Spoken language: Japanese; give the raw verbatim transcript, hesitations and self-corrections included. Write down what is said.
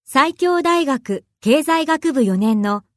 西京大学経済学部よねんの